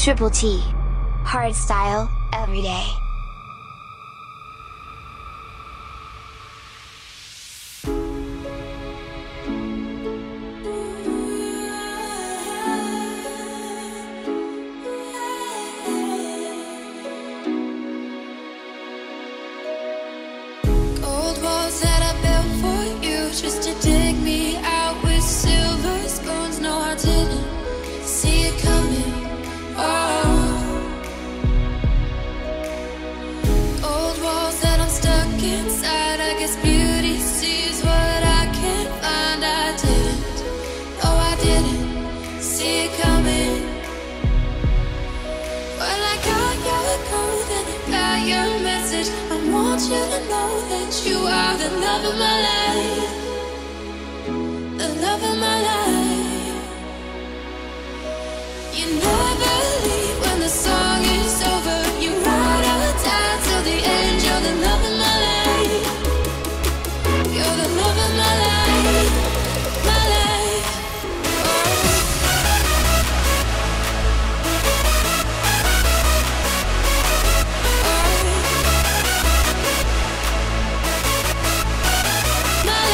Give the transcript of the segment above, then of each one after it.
Triple T. Hard style, every day. Gold walls that I built for you just to dig me out with silver spoons. No, I didn't see it coming. Oh, old walls that I'm stuck inside. I guess beauty sees what I can't find. I didn't, oh, I didn't see it coming. Well, I got your code and I got your message. I want you to know that you are the love of my life, the love of my life. You never leave when the song is over. You ride or die till the end. You're the love of my life. You're the love of my life, my life. My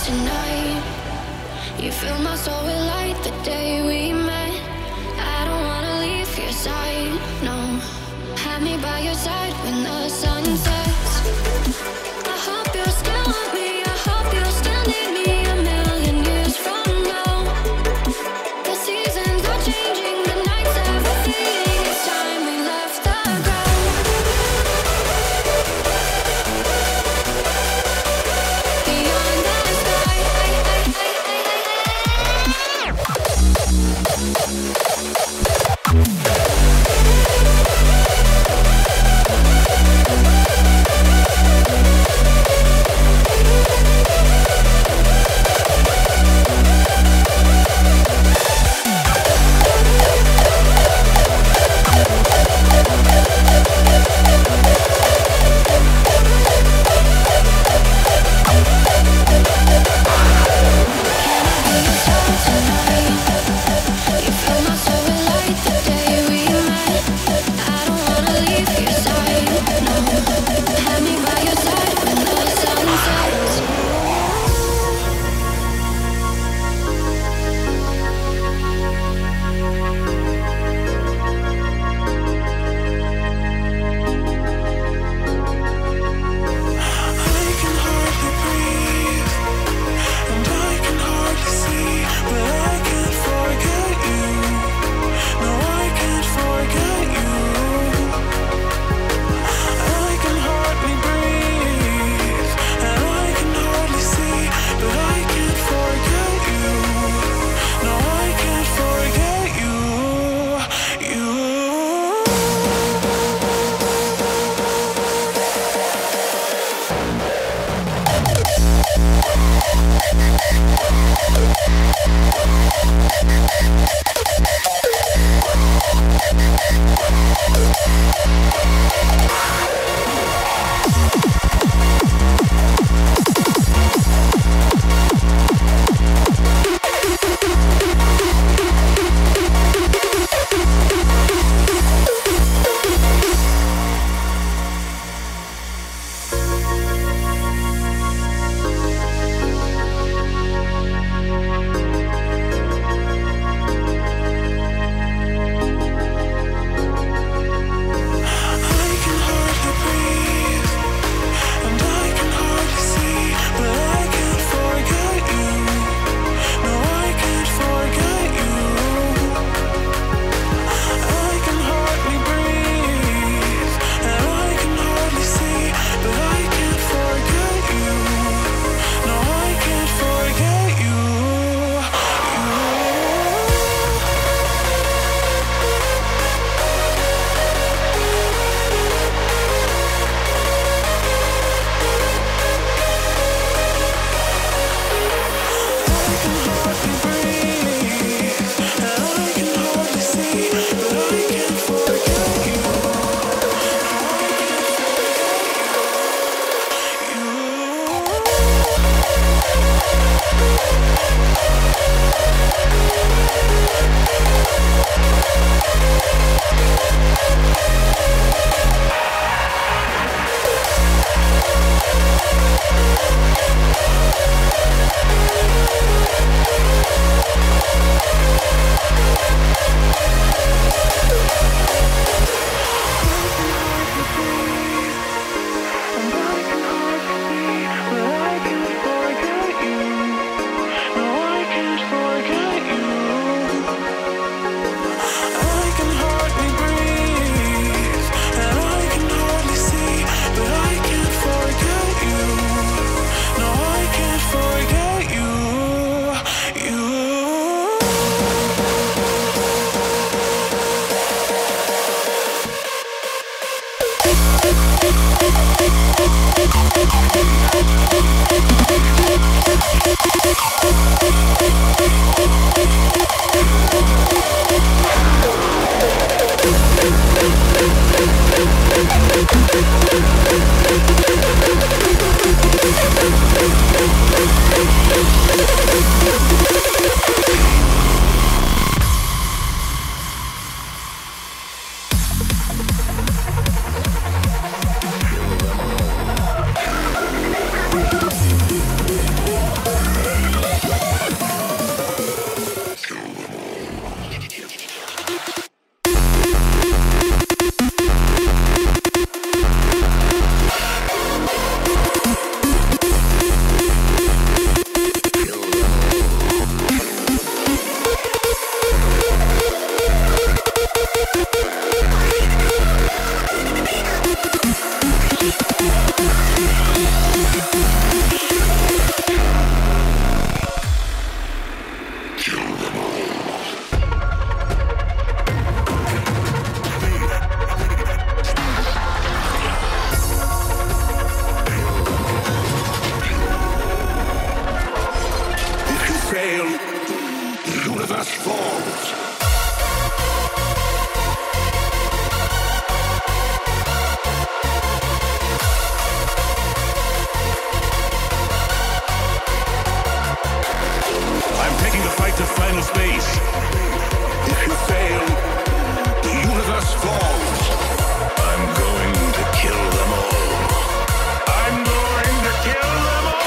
tonight. You fill my soul with light the day we met. I don't wanna leave your side, no. Have me by your side when the sun sets. I hope you'll still want me. I hope you'll still need me a million years from now. The seasons are changing, the nights are fading. It's time we left the ground. Beyond the sky. from space. If you fail, the universe falls. I'm going to kill them all. I'm going to kill them all.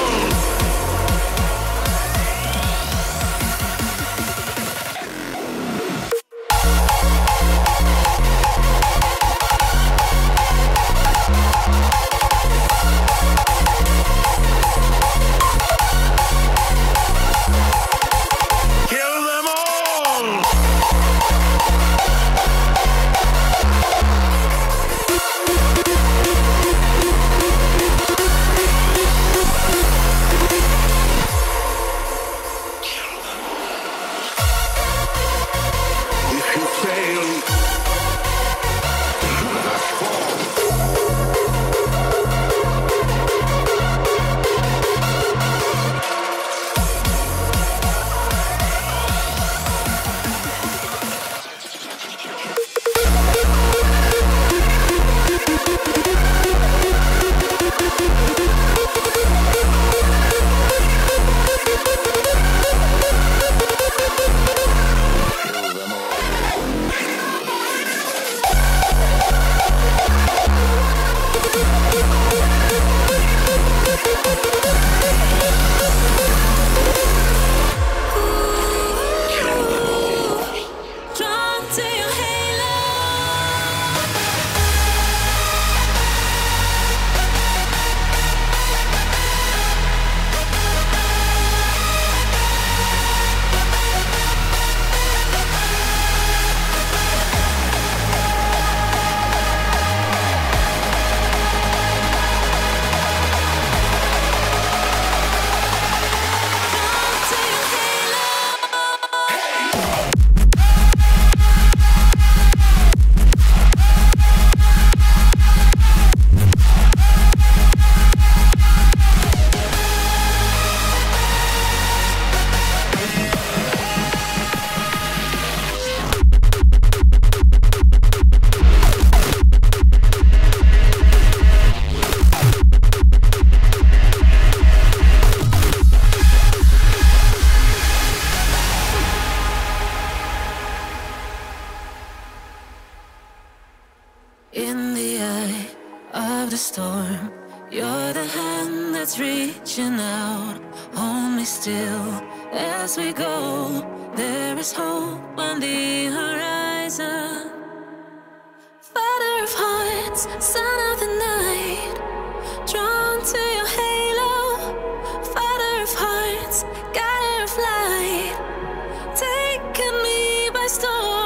In the eye of the storm, you're the hand that's reaching out. Hold me still as we go. There is hope on the horizon. Father of hearts, son of the night, drawn to your halo. Father of hearts, guide of light, taken me by storm.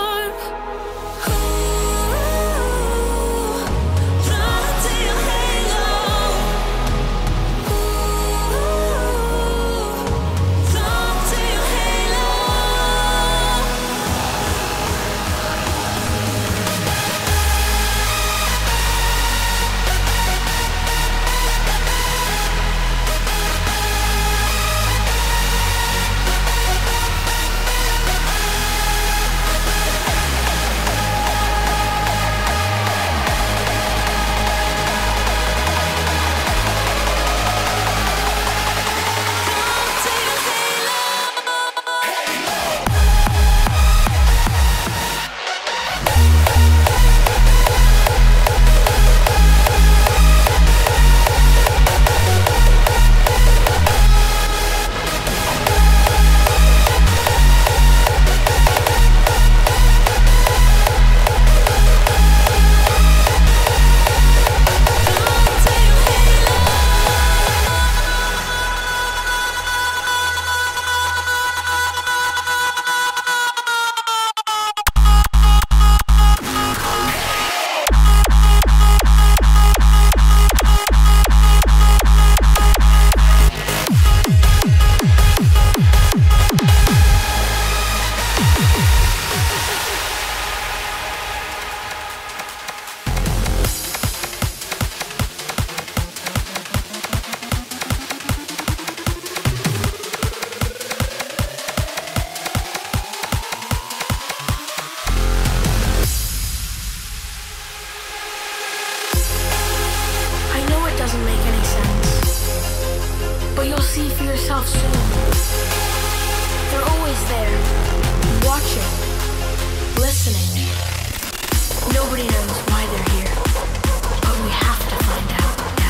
But you'll see for yourself soon. They're always always there, watching, listening. Nobody knows why they're here, but we have to find out.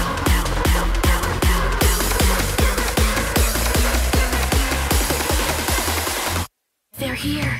They're here.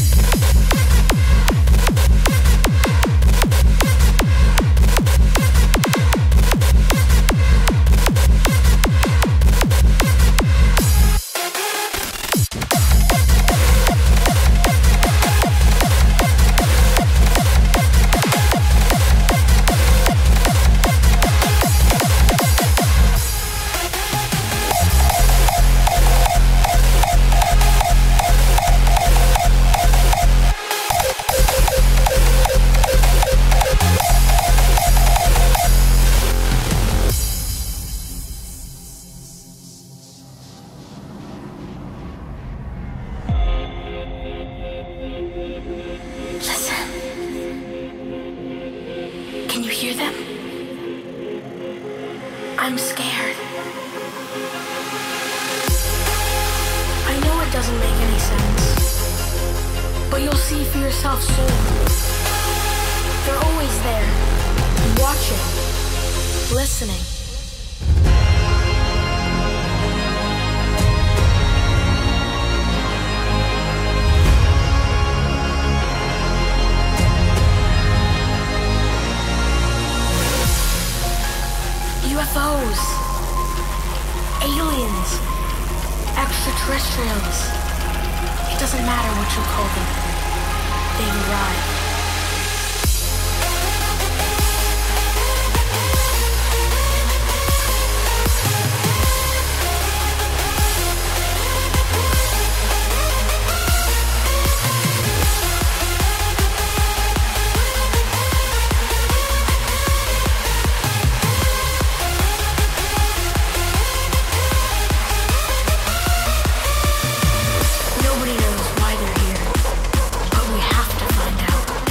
UFOs, aliens, extraterrestrials. It doesn't matter what you call them. They've arrived. Nobody knows why they're here, but we have to find out.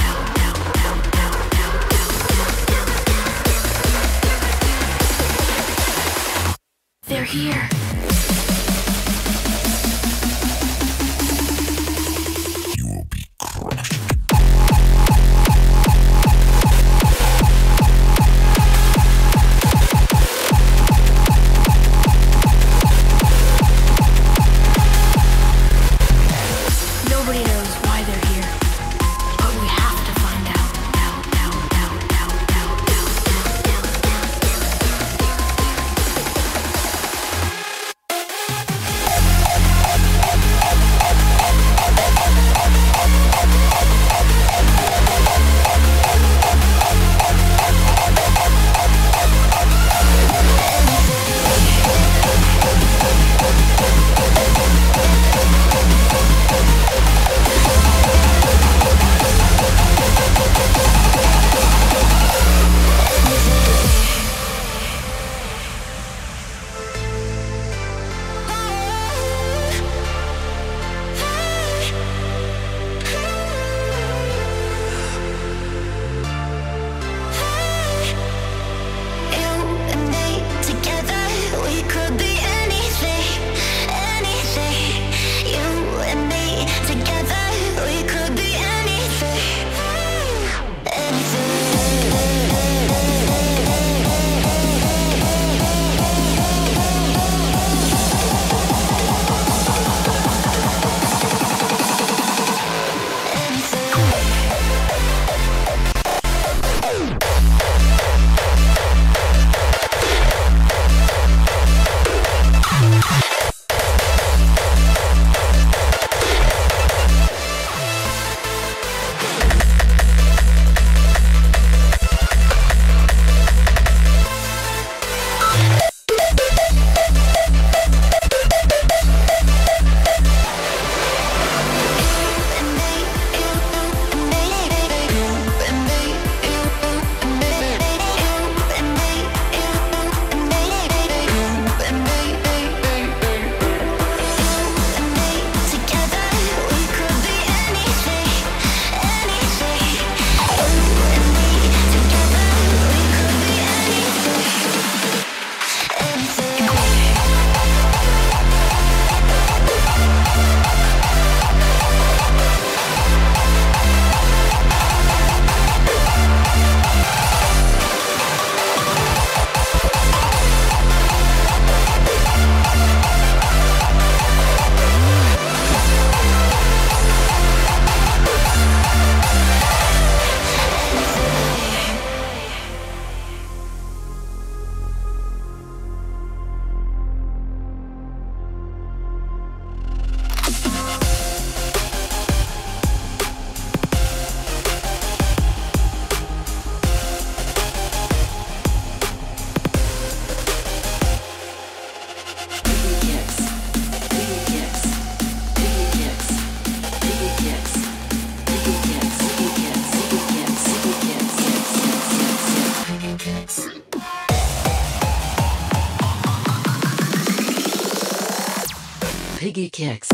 Piggy kicks.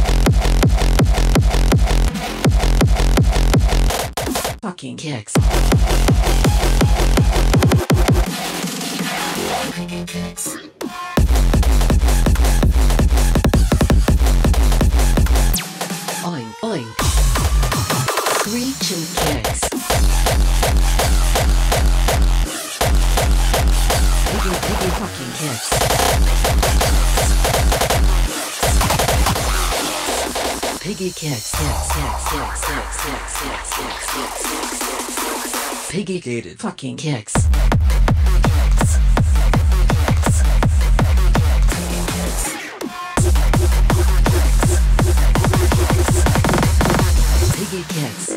Fucking kicks. Oink oink. Screeching kicks. Piggy fucking kicks. Piggy kicks. Piggy gated fucking kicks. Piggy kicks.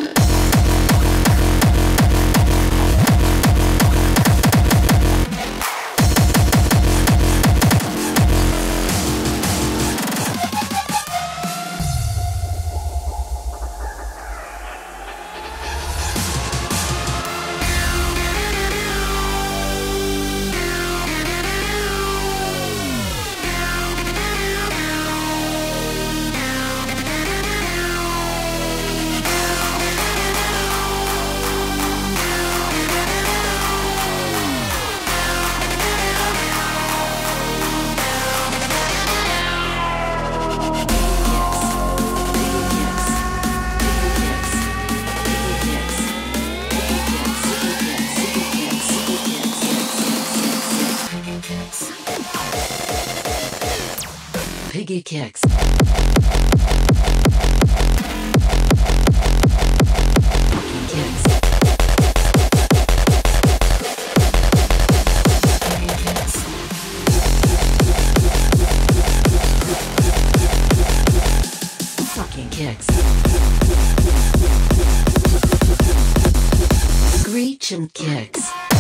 Piggy kicks. Fucking kicks. Fucking kicks. Screeching kicks.